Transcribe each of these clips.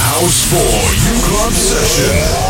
House 4 U Club Session.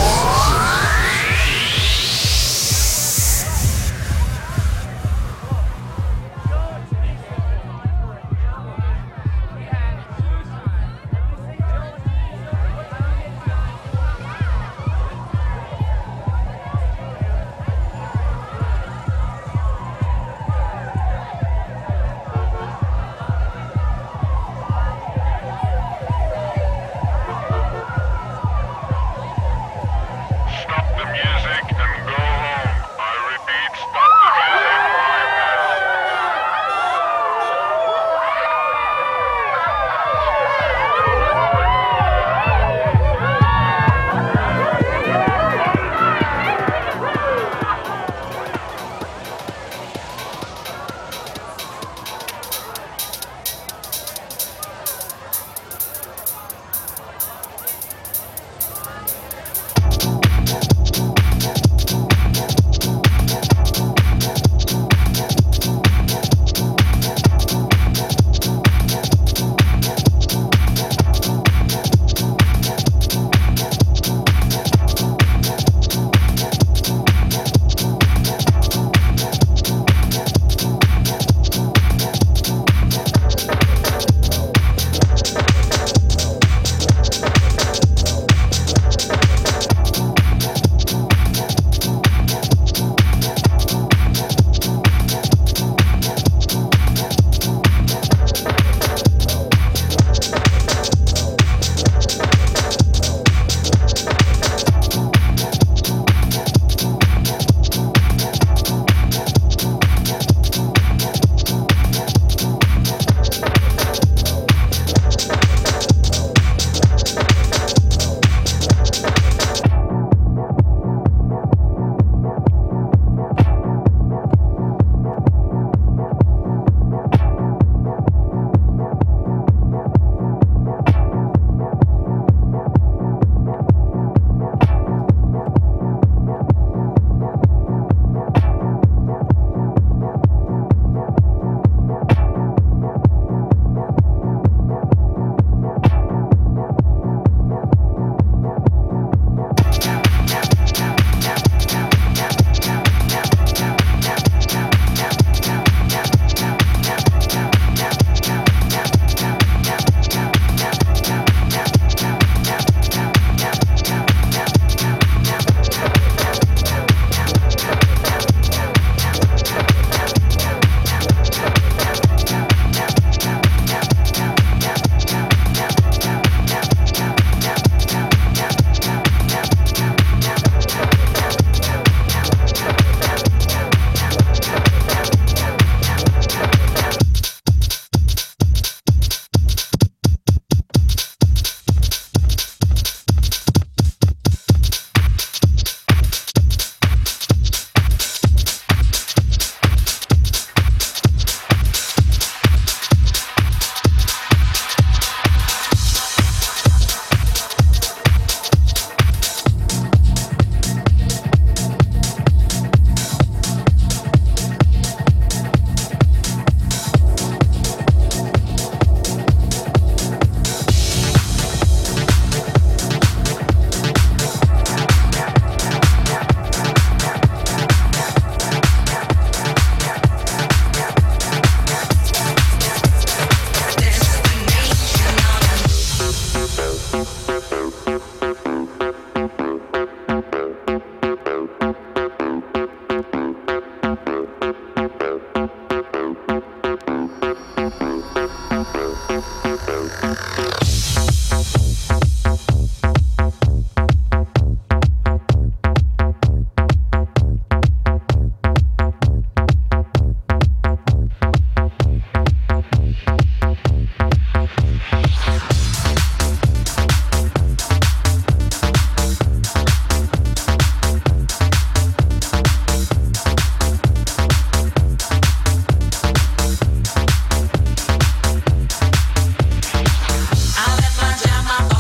I left my jam,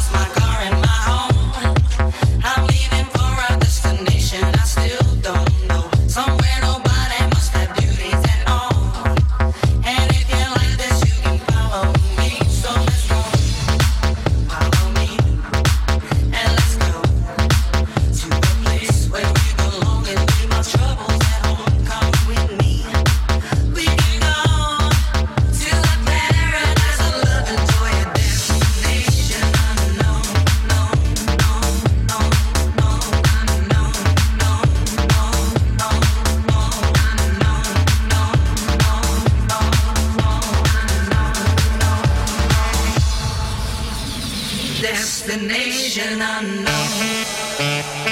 destination unknown.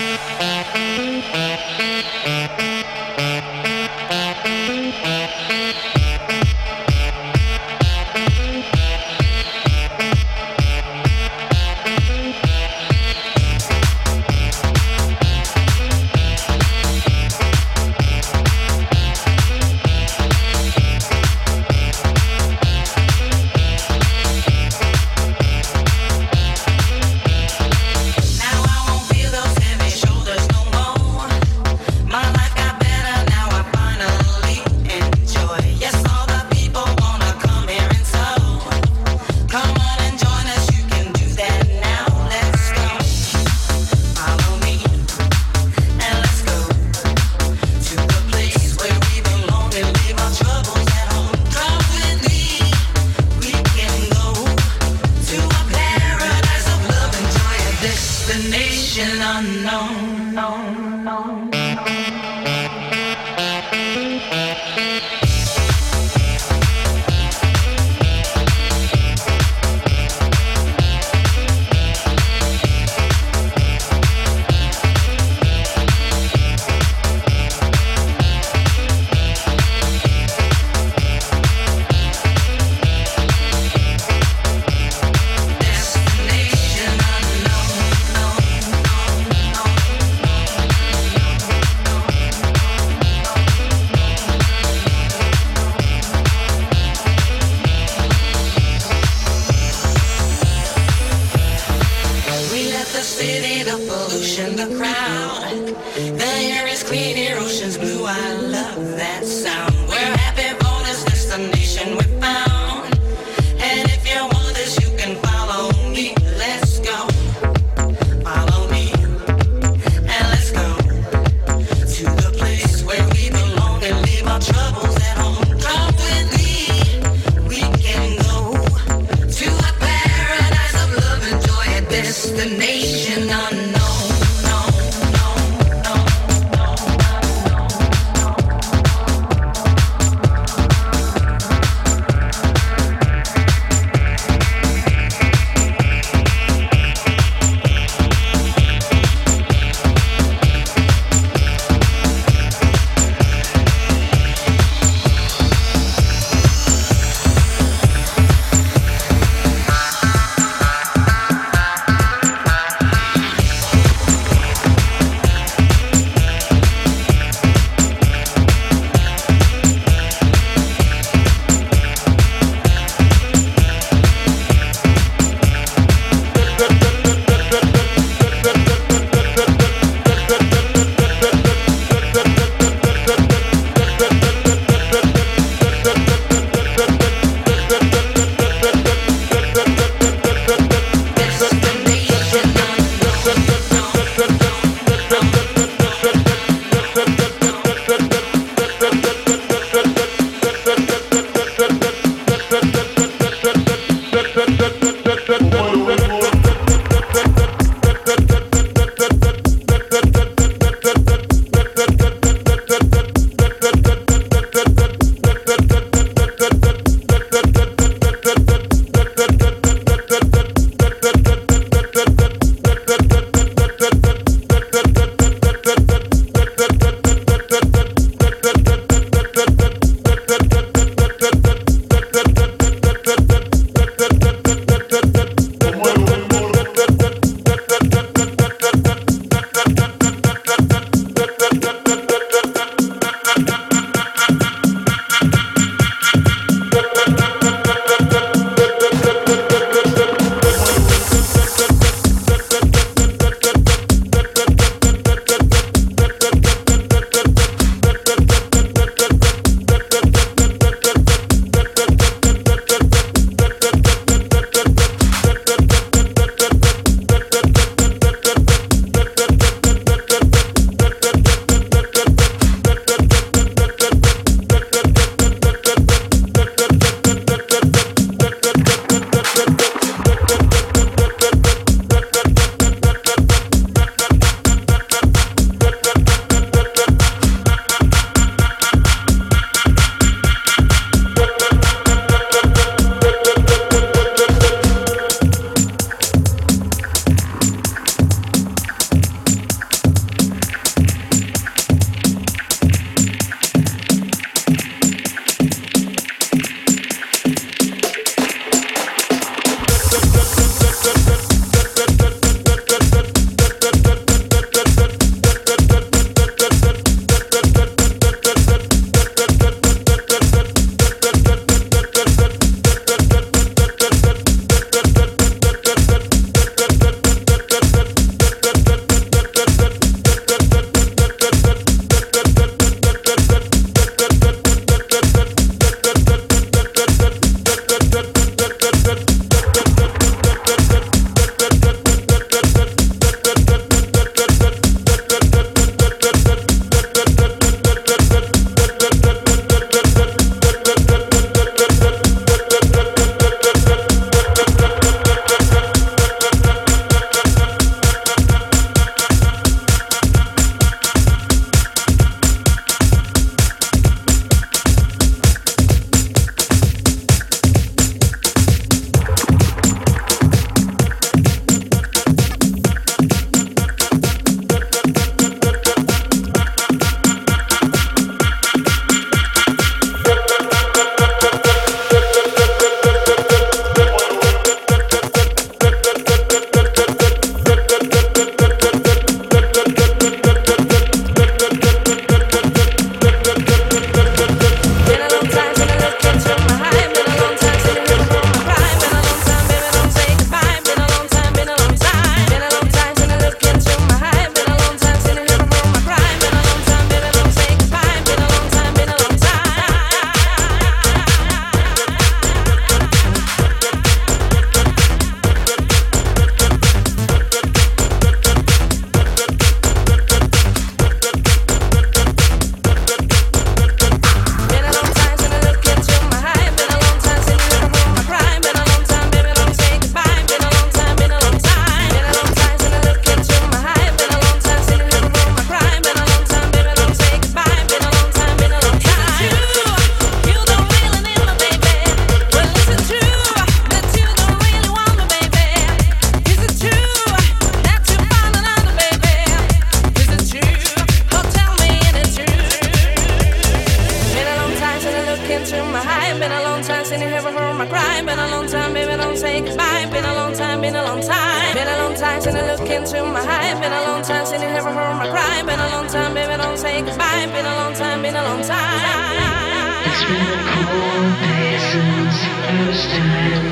long time, been a long time. Been a long time since I look into my eye. Been a long time since you ever heard my cry. Been a long time, baby, don't say goodbye. Been a long time, been a long time. It's been a cold day since the first time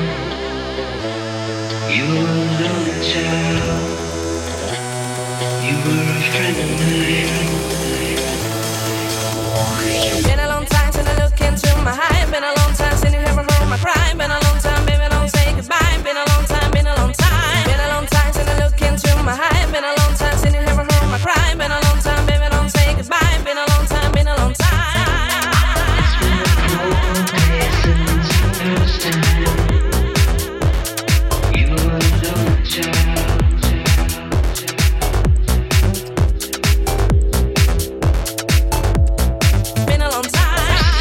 you were a little child. You were a friend of mine. Been a long time since I look into my eye. Been a long time since you ever heard my cry. Been a long time, baby, don't say goodbye. Been a long time, been a long time. Been a long time since I look into my eye. Been a long time since you ever heard my cry. Been a long time, baby, don't say goodbye. Been a long time, been a long time. It's been a cold day since the first time you were a little child. Been a long time.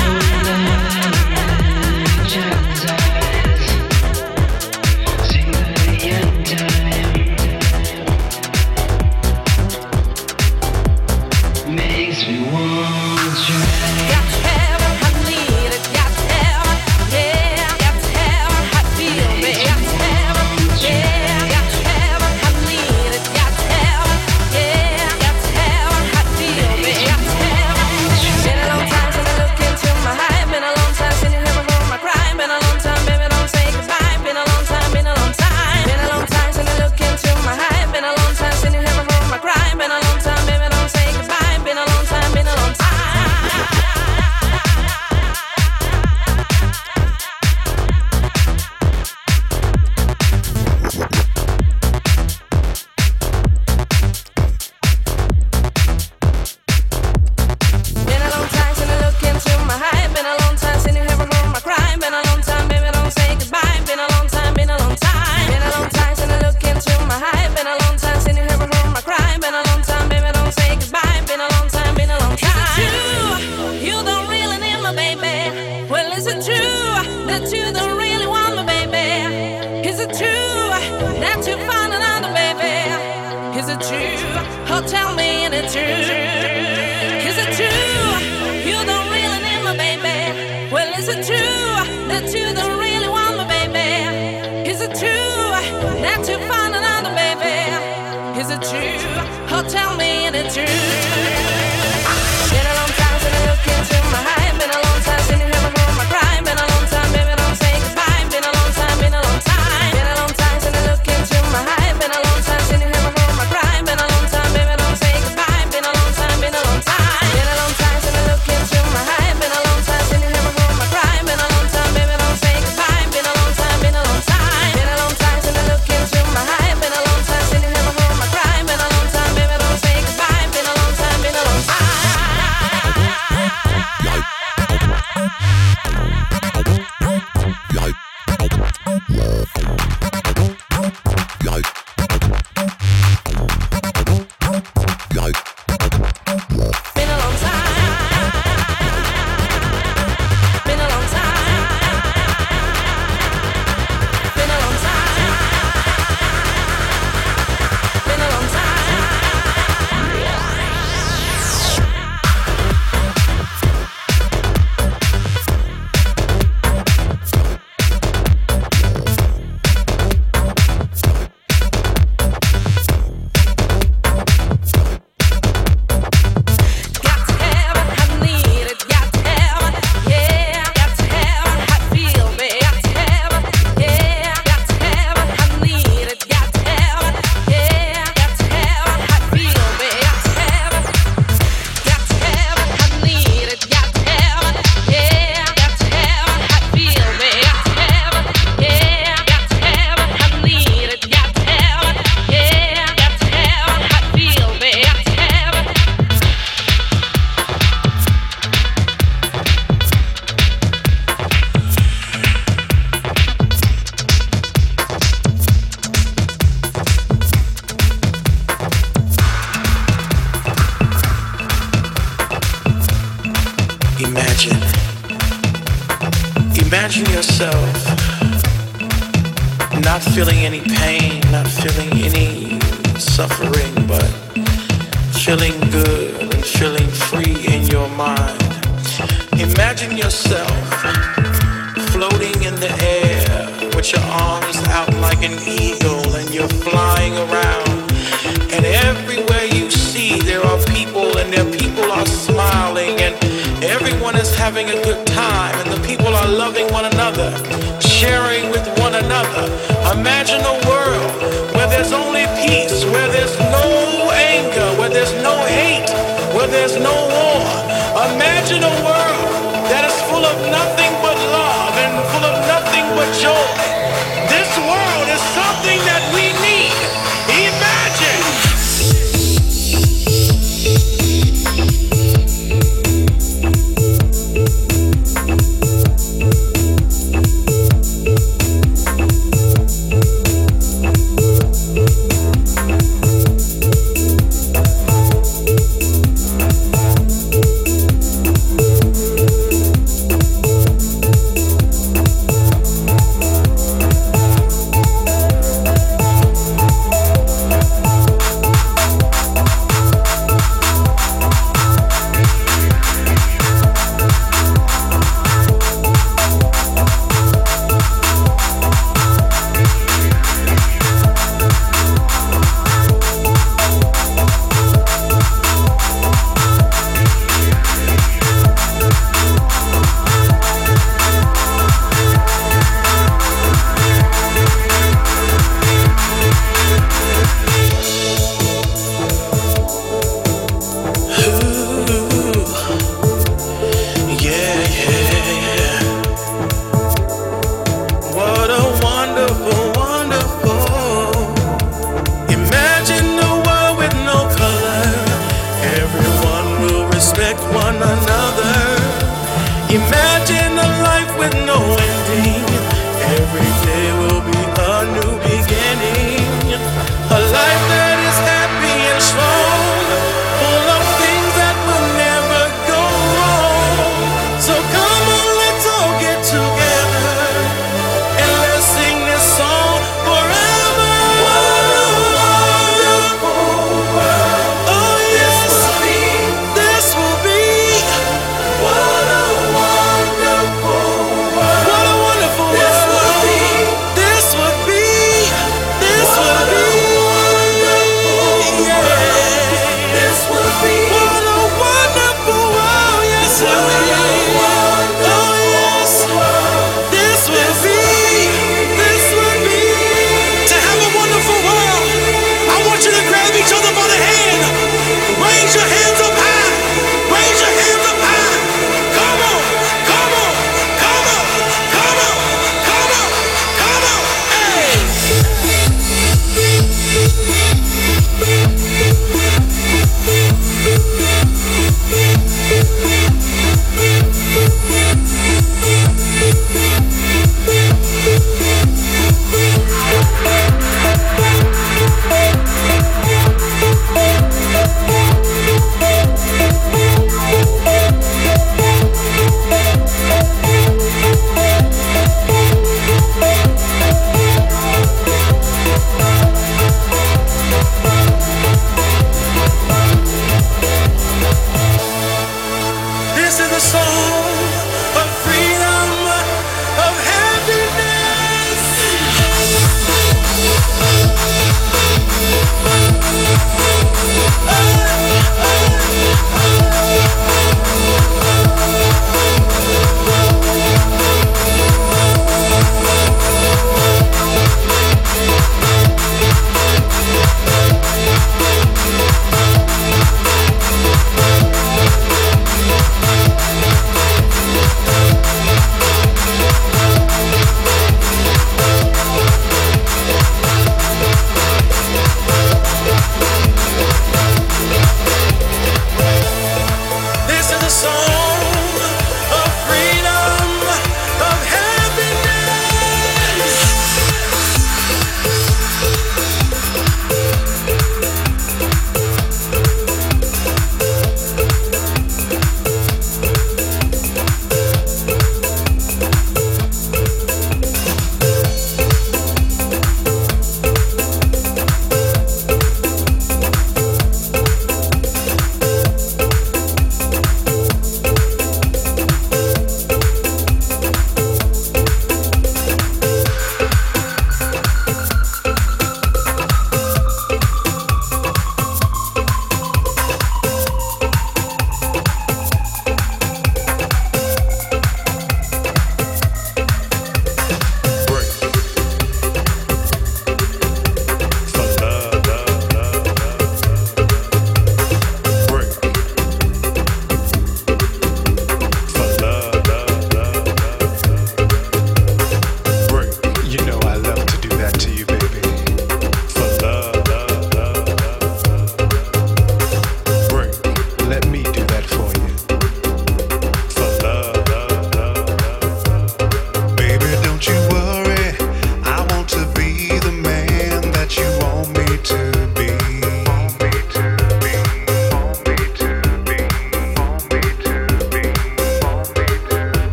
Imagine yourself not feeling any pain, not feeling any suffering, but feeling good and feeling free in your mind. Imagine yourself floating in the air with your arms out like an eagle and you're flying around. And everywhere you see, there are people and their people are smiling and everyone is having a good time and the people are loving one another, sharing with one another. Imagine a world where there's only peace, where there's no anger, where there's no hate, where there's no war. Imagine a world that is full of nothing but love and full of nothing but joy. This world is something that we need. Imagine!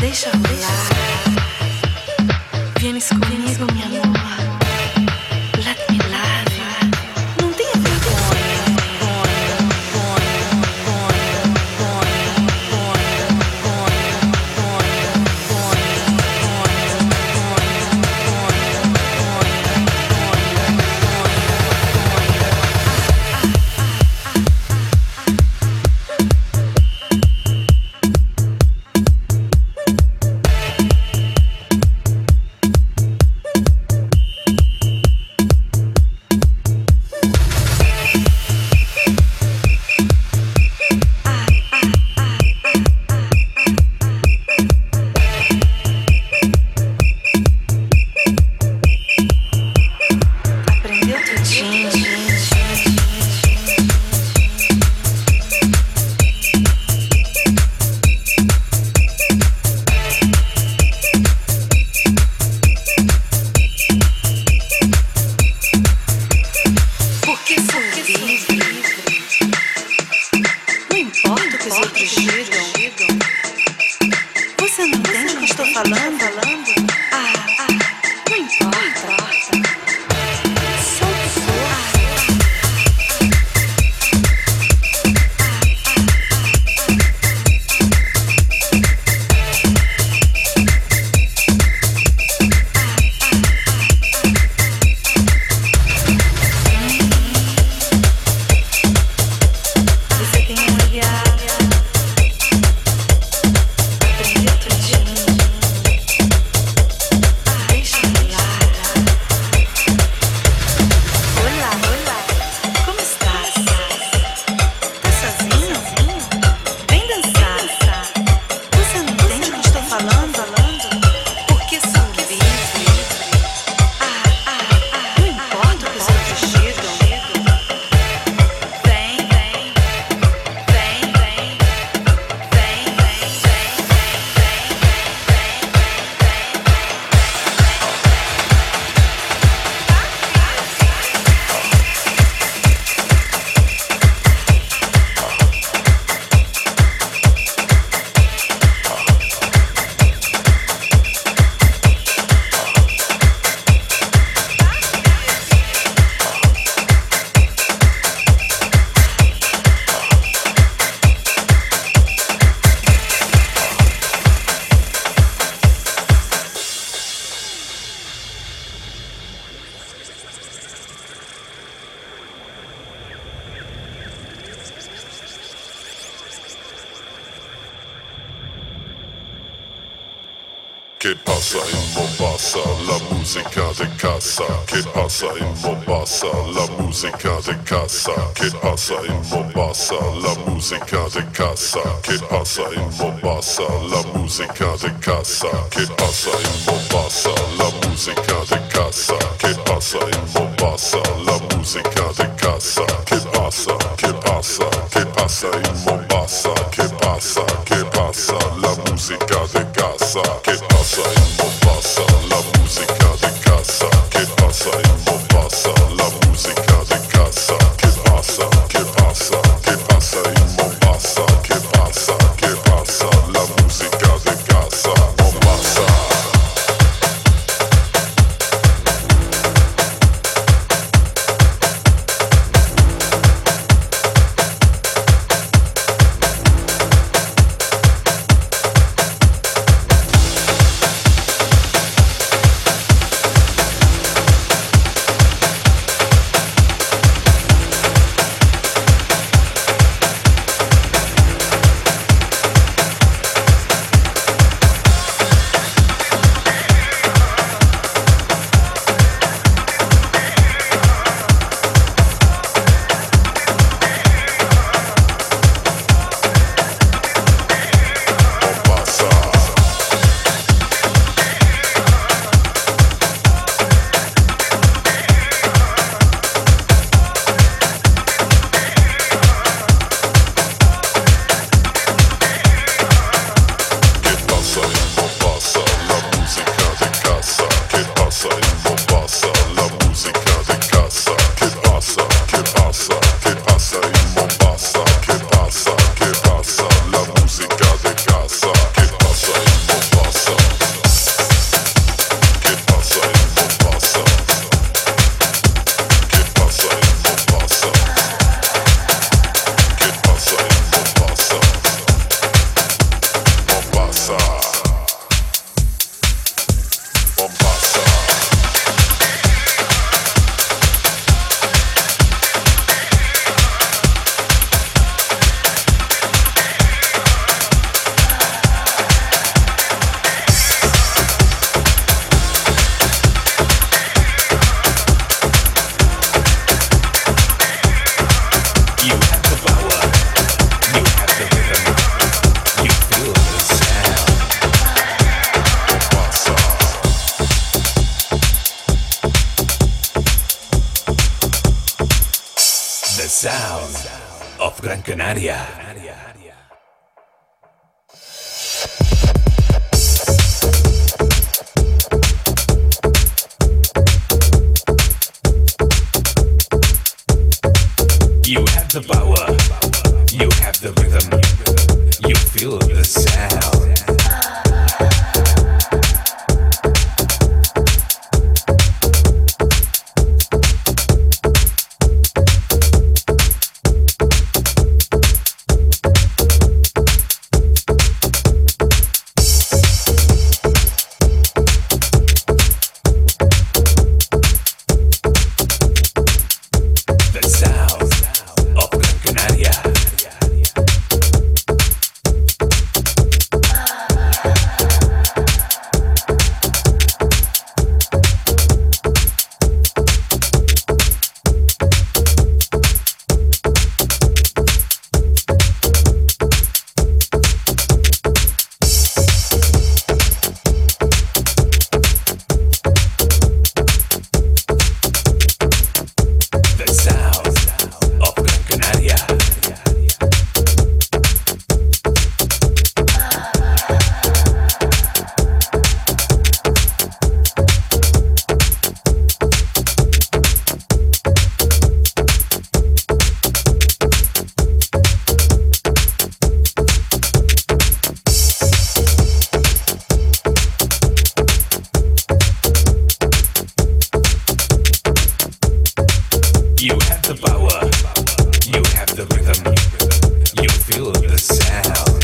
Deixa rolar. Vienes comigo, mi amor. Let me love you. Não tenha vergonha. Che passa in Mombasa, la musica de casa. Che passa in Mombasa, la musica de casa. Che passa in Mombasa, la musica de casa. Che passa in Mombasa, la musica de casa. Che passa in Mombasa, la musica de casa. Che passa in Mombasa, la musica de casa. Che passa in Mombasa. Che passa la musica de casa. Che passa in Mombasa, la musica de casa. Che passa in Mombasa, la musica de casa. Che passa in Mombasa. Che passa la musica de casa. Mombasa. of Gran Canaria. You have the power, you have the rhythm, you feel the sound. You have the power, you have the rhythm, you feel the sound.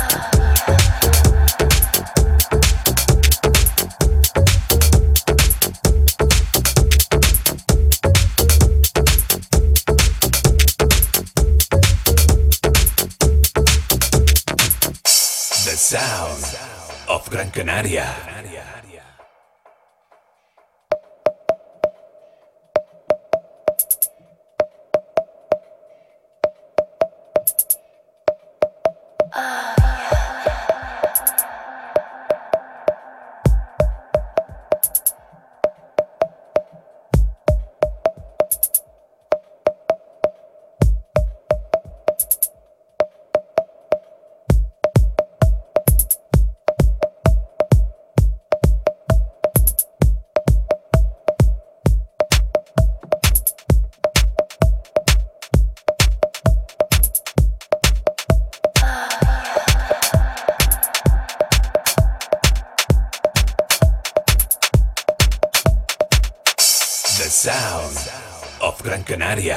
The sound of Gran Canaria. The sound of Gran Canaria.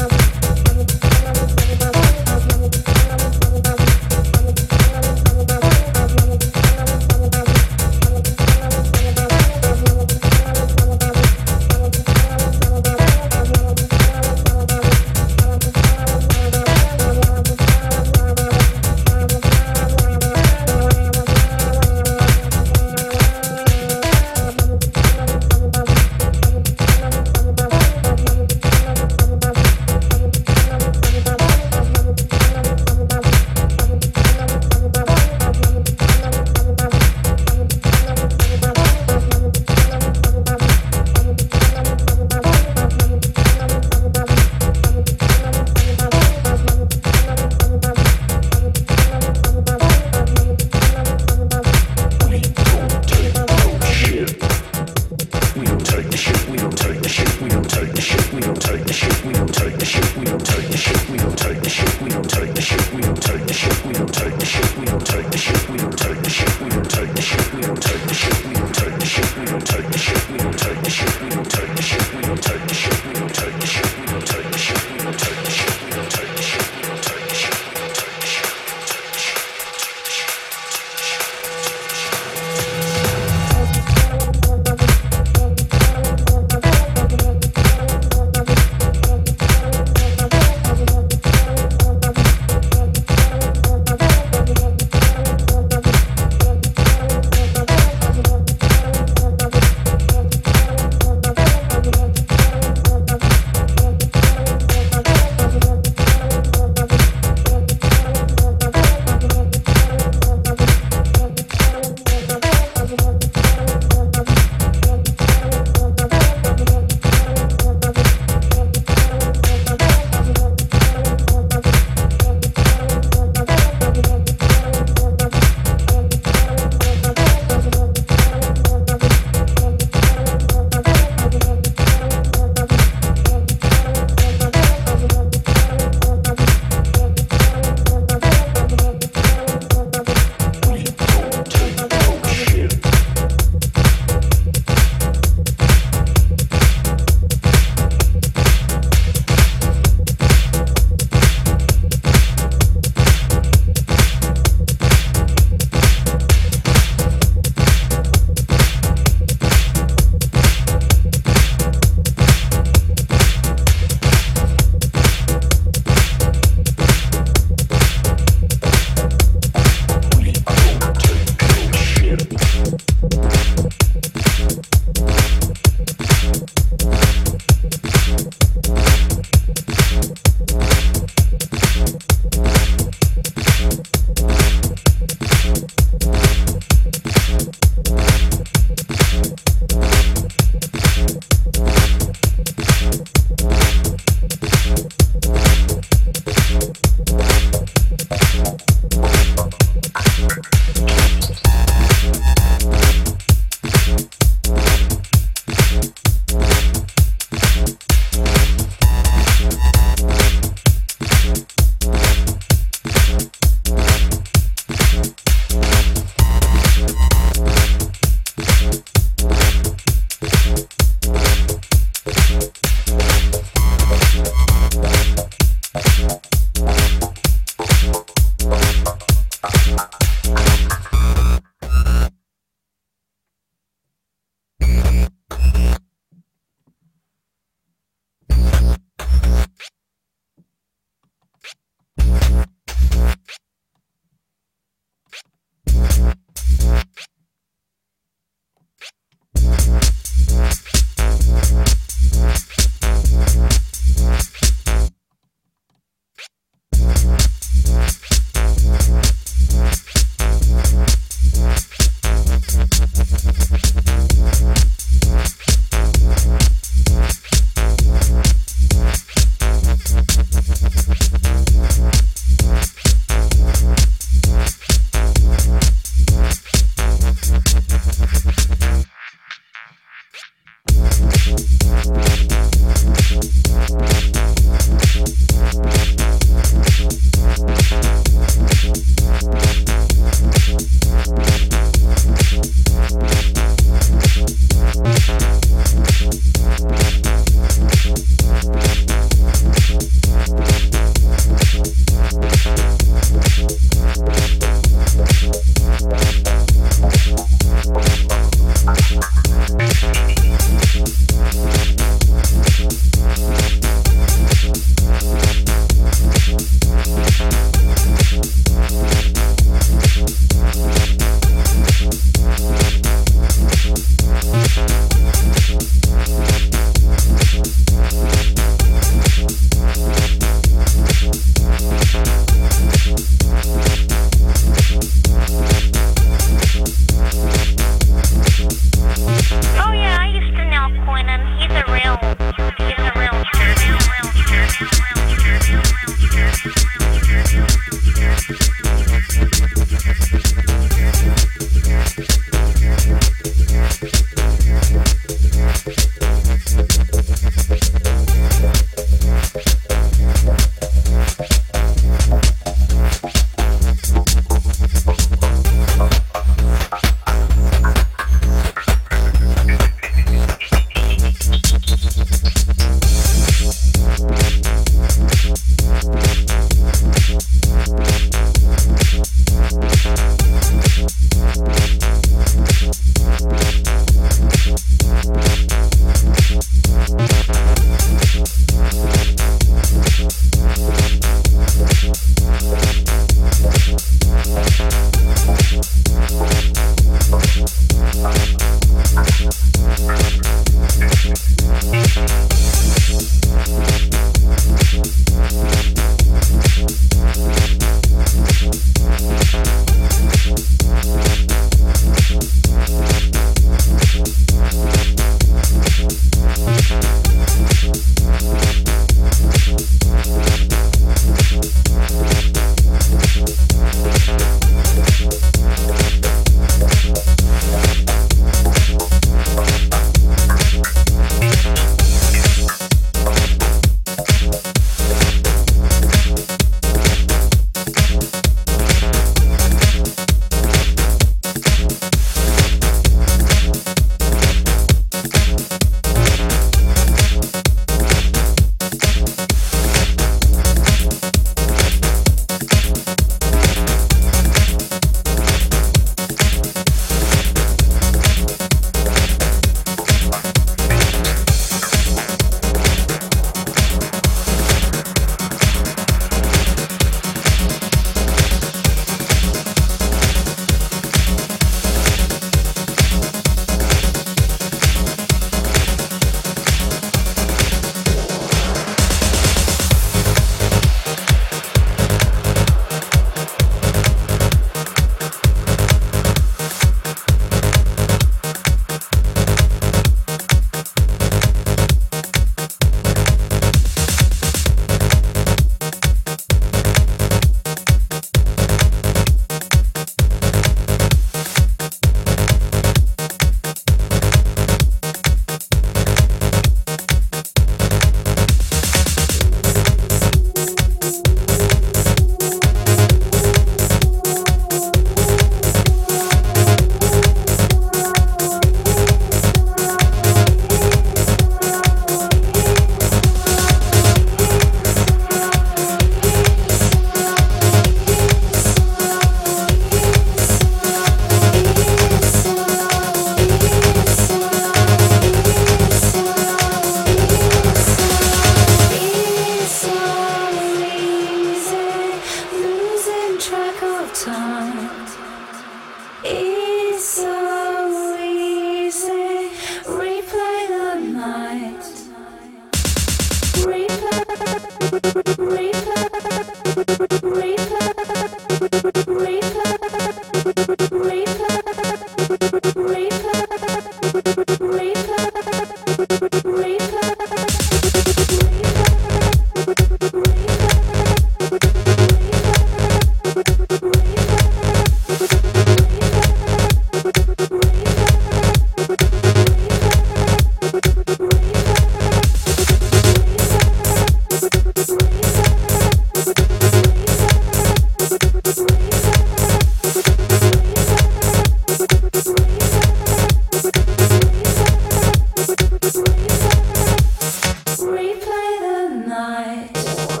Replay the night.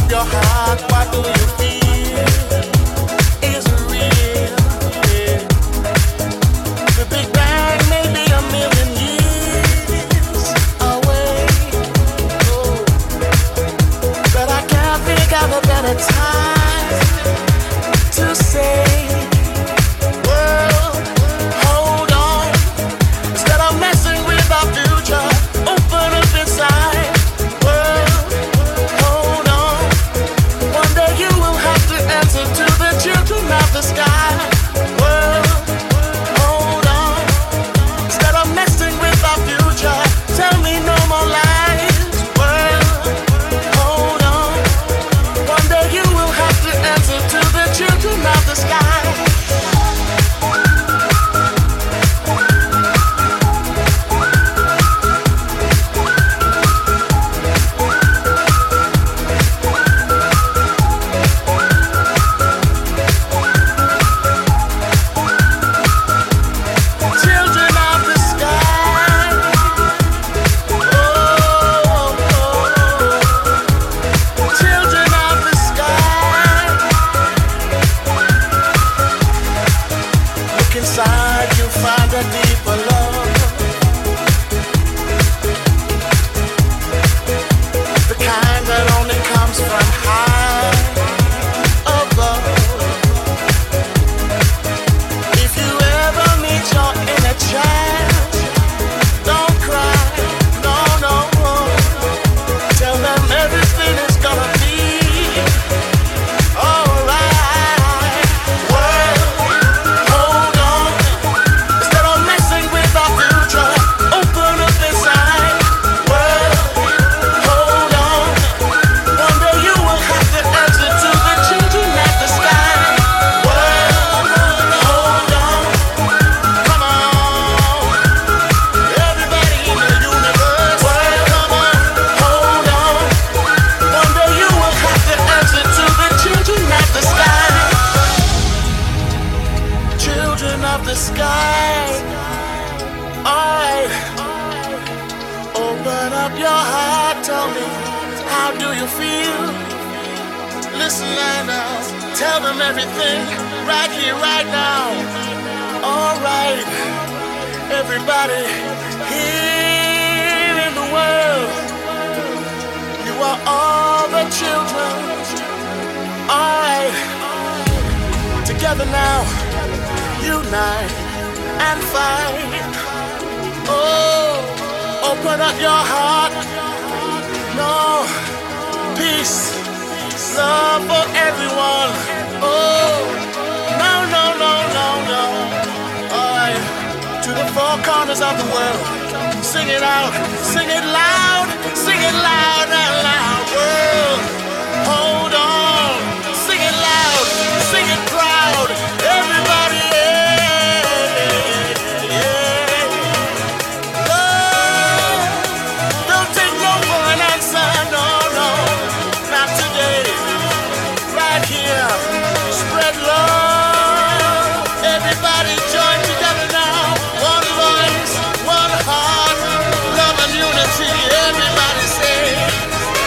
your heart, what do you feel? Is it real? Yeah. The Big Bang may be a million years away, oh, but I can't think of a better time to say, world, hold on. Instead of messing with our future, open up inside. World, hold on. One day you will have to answer to the children of the sky. World, hold on. Instead of messing with our future, tell me no more lies. World, hold on. One day you will have to answer to the children of the sky. Children of the sky. Oh, children of the sky. Look inside, you'll find a deeper love. The kind that only comes from high above. If you ever meet your inner child, don't cry, no, no. Tell them everything is gonna be alright. World, hold on. Instead of messing with our future, open up inside. World, hold on. One day you will have to answer to the children of the sky. World, hold on. Come on. Everybody in the universe. World, come on. Hold on. One day you will have to answer to the children of the sky. Children of the sky. Alright. Open up your heart, tell me, how do you feel? Listen right now, tell them everything, right here, right now. Alright, everybody here in the world, you are all the children. Alright, together now, unite and fight. Oh, open up your heart. No, peace, love for everyone. Oh, no, no, no, no, no. Alright, to the four corners of the world. Sing it out, sing it loud and loud. World, hold on. Sing it loud, sing it proud. Everybody, don't take no for an answer, no, no, not today. Right here, spread love. Everybody join together now. One voice, one heart, love and unity. Everybody say,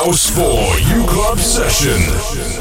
House for U Club Session.